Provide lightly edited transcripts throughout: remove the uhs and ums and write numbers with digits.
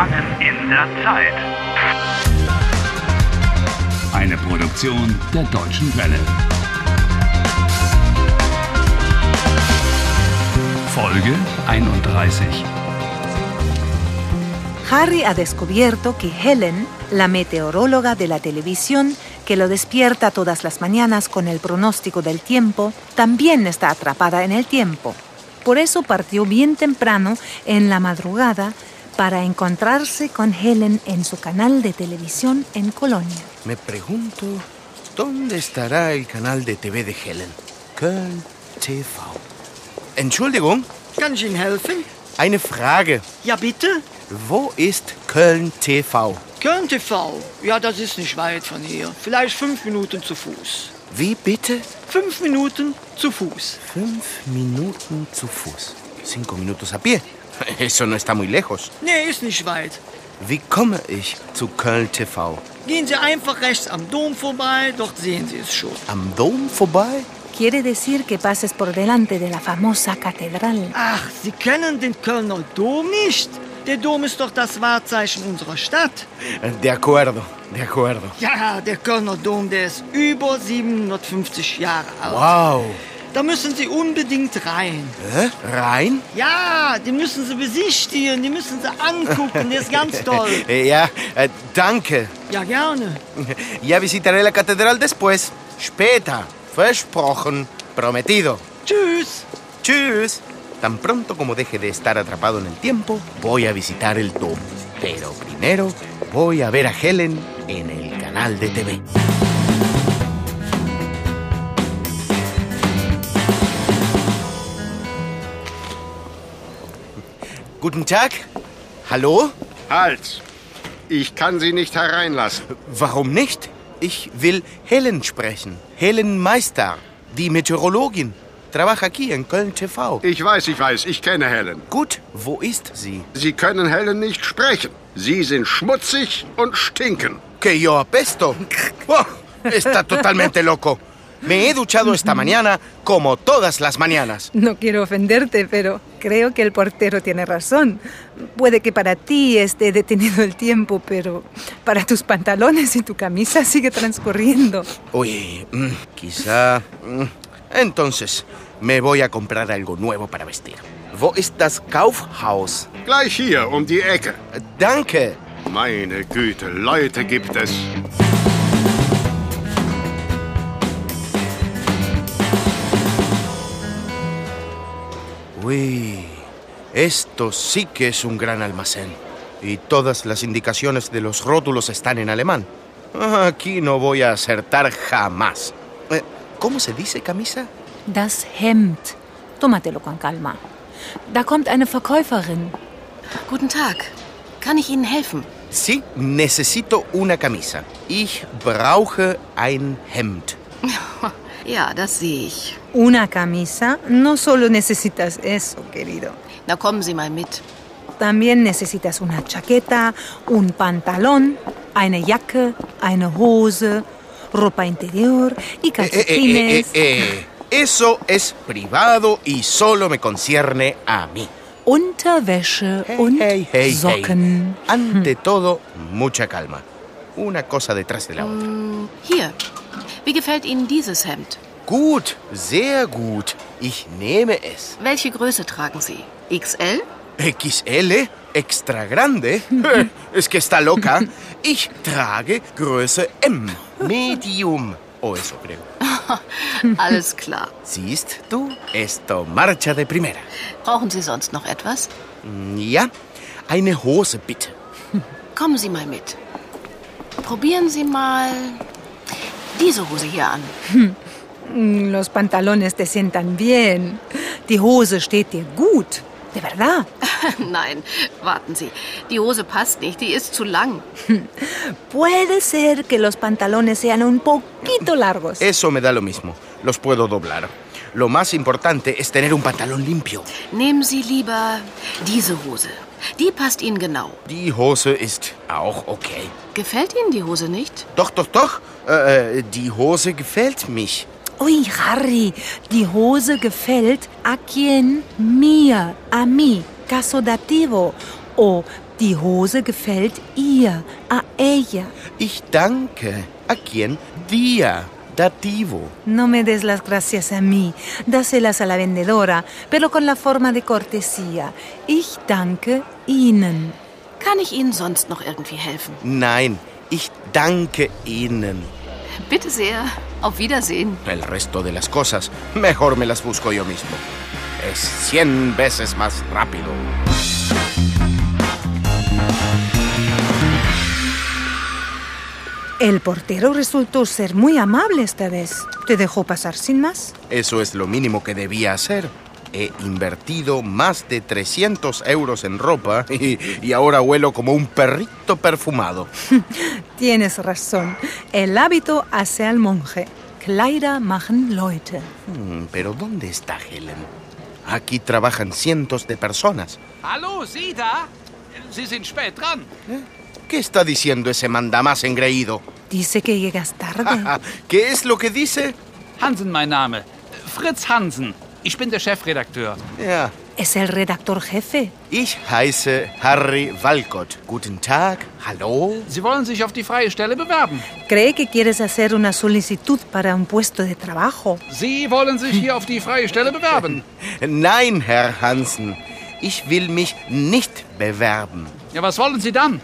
Gefangen in der Zeit. Eine Produktion der Deutschen Welle. Folge 31. Harry ha descubierto que Helen, la meteoróloga de la televisión, que lo despierta todas las mañanas con el pronóstico del tiempo, también está atrapada en el tiempo. Por eso partió bien temprano, en la madrugada, para encontrarse con Helen en su canal de televisión en Colonia. Me pregunto, ¿dónde estará el canal de TV de Helen? Köln TV. Entschuldigung, Kann ich Ihnen helfen? eine Frage. Ja, bitte? Wo ist Köln TV? Köln TV. Ja, das ist nicht weit von hier. Vielleicht 5 Minuten zu Fuß. Wie bitte? 5 Minuten zu Fuß. 5 Minuten zu Fuß. 5 minutos a pie. Eso no está muy lejos. Nee, ist nicht weit. Wie komme ich zu Köln TV? Gehen Sie einfach rechts am Dom vorbei, dort sehen Sie es schon. Am Dom vorbei? Quiere decir que pases por delante de la famosa catedral. Ach, Sie kennen den Kölner Dom nicht? Der Dom ist doch das Wahrzeichen unserer Stadt. De acuerdo, de acuerdo. Ja, der Kölner Dom, der ist über 750 Jahre alt. Wow. Da müssen Sie unbedingt rein. Rein? Ja, die müssen Sie besichtigen, die müssen Sie angucken, der ist ganz toll. Ja, danke. Ja, gerne. Ya visitaré la catedral después. Später. Versprochen. Prometido. Tschüss. Tschüss. Tan pronto como deje de estar atrapado en el tiempo, voy a visitar el Dom. Pero primero voy a ver a Helen en el canal de TV. Guten Tag. Hallo? Halt! Ich kann Sie nicht hereinlassen. Warum nicht? Ich will Helen sprechen. Helen Meister, die Meteorologin. Trabaja aquí en Köln TV. Ich weiß, ich kenne Helen. Gut, wo ist sie? Sie können Helen nicht sprechen. Sie sind schmutzig und stinken. Que yo apesto. Oh, está totalmente loco. Me he duchado esta mañana como todas las mañanas. No quiero ofenderte, pero creo que el portero tiene razón. Puede que para ti esté detenido el tiempo, pero para tus pantalones y tu camisa sigue transcurriendo. Uy, quizá... Entonces, me voy a comprar algo nuevo para vestir. Wo ist das Kaufhaus? Gleich hier, um die Ecke. Danke. Meine Güte, Leute gibt es. Uy, esto sí que es un gran almacén. Y todas las indicaciones de los rótulos están en alemán. Aquí no voy a acertar jamás. ¿Cómo se dice camisa? Das Hemd. Tómatelo con calma. Da kommt eine Verkäuferin. Guten Tag. Kann ich Ihnen helfen? Sí, necesito una camisa. Ich brauche ein Hemd. Ja, das sehe ich. ¿Una camisa? No solo necesitas eso, querido. Na, kommen Sie mal mit. También necesitas una chaqueta, un pantalón, eine Jacke, eine Hose, ropa interior y calcetines. Eso es privado y solo me concierne a mí. Unterwäsche und Socken. Ante todo, mucha calma. Una cosa detrás de la otra. Hier. Wie gefällt Ihnen dieses Hemd? Gut, sehr gut. Ich nehme es. Welche Größe tragen Sie? XL? XL? Extra grande? Es que está loca. Ich trage Größe M. Medium. O eso creo. Alles klar. Siehst du, esto marcha de primera. Brauchen Sie sonst noch etwas? Ja, eine Hose bitte. Kommen Sie mal mit. Probieren Sie mal diese Hose hier an. Los pantalones te sientan bien. Die Hose steht dir gut. De verdad. Nein, warten Sie. Die Hose passt nicht, die ist zu lang. Puede ser que los pantalones sean un poquito largos. Eso me da lo mismo. Los puedo doblar. Lo más importante es tener un pantalón limpio. Nehmen Sie lieber diese Hose. Die passt Ihnen genau. Die Hose ist auch okay. Gefällt Ihnen die Hose nicht? Doch. Die Hose gefällt mich. Uy, Harry, die Hose gefällt a quien, mir, a mí, caso dativo. O Die Hose gefällt ihr, a ella. Ich danke. ¿A quién? Dir. Dativo. No me des las gracias a mí, dáselas a la vendedora, pero con la forma de cortesía. Ich danke Ihnen. Kann ich Ihnen sonst noch irgendwie helfen? Nein, ich danke Ihnen. Bitte sehr. Auf Wiedersehen. El resto de las cosas, mejor me las busco yo mismo. Es 100 veces más rápido. El portero resultó ser muy amable esta vez. ¿Te dejó pasar sin más? Eso es lo mínimo que debía hacer. He invertido más de 300 euros en ropa y ahora huelo como un perrito perfumado. Tienes razón. El hábito hace al monje. Kleider machen Leute. Pero ¿dónde está Helen? Aquí trabajan cientos de personas. Hallo, Sie da? Sie sind spät dran. ¿Qué está diciendo ese mandamás engreído? Dice que llegas tarde. ¿Qué es lo que dice? Hansen, mein Name. Fritz Hansen. Ich bin der Chefredakteur. Ja. Es el redactor jefe. Ich heiße Harry Walcott. Guten Tag. Hallo. Sie wollen sich auf die freie Stelle bewerben. Cree que quieres hacer una solicitud para un puesto de trabajo. Sie wollen sich hier auf die freie Stelle bewerben. Nein, Herr Hansen. Ich will mich nicht bewerben. Ja, was wollen Sie dann?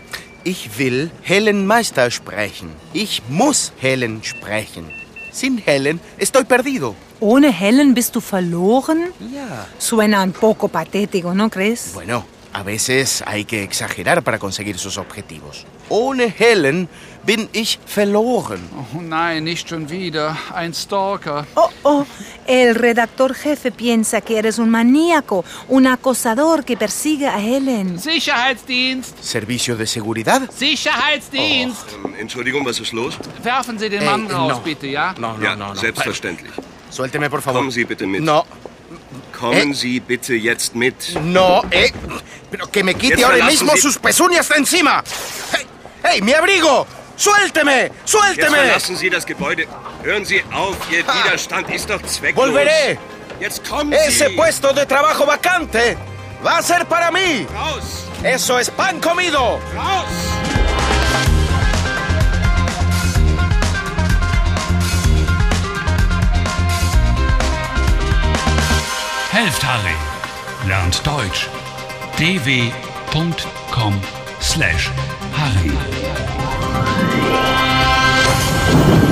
Ich will Helen Meister sprechen. Ich muss Helen sprechen. Sin Helen estoy perdido. ¿Ohne Helen bist du verloren? Ja. Suena un poco patético, ¿no crees? Bueno, a veces hay que exagerar para conseguir sus objetivos. Ohne Helen bin ich verloren. Oh nein, nicht schon wieder. Ein Stalker. Oh, el redactor jefe piensa que eres un maníaco, un acosador que persigue a Helen. Sicherheitsdienst. ¿Servicio de seguridad? Sicherheitsdienst. Entschuldigung, was ist los? Werfen Sie den Mann raus, no. bitte, ja? No, Ja, selbstverständlich. Suélteme, por favor. Kommen Sie bitte mit. No, Kommen Sie bitte jetzt mit. no, pero que me quite Jetzt ahora verlassen mismo Sie- sus pezuñas de encima. ¡Hey, mi abrigo! ¡Suélteme! Jetzt ¡Suélteme! verlassen Sie das Gebäude. Hören Sie auf, Ihr Widerstand ist doch zwecklos. ¡Volveré! Jetzt kommen Ese Sie. puesto de trabajo vacante va a ser para mí. Raus! Eso es pan comido. Raus! Helft Harry. Lernt Deutsch. dw.com/Harry.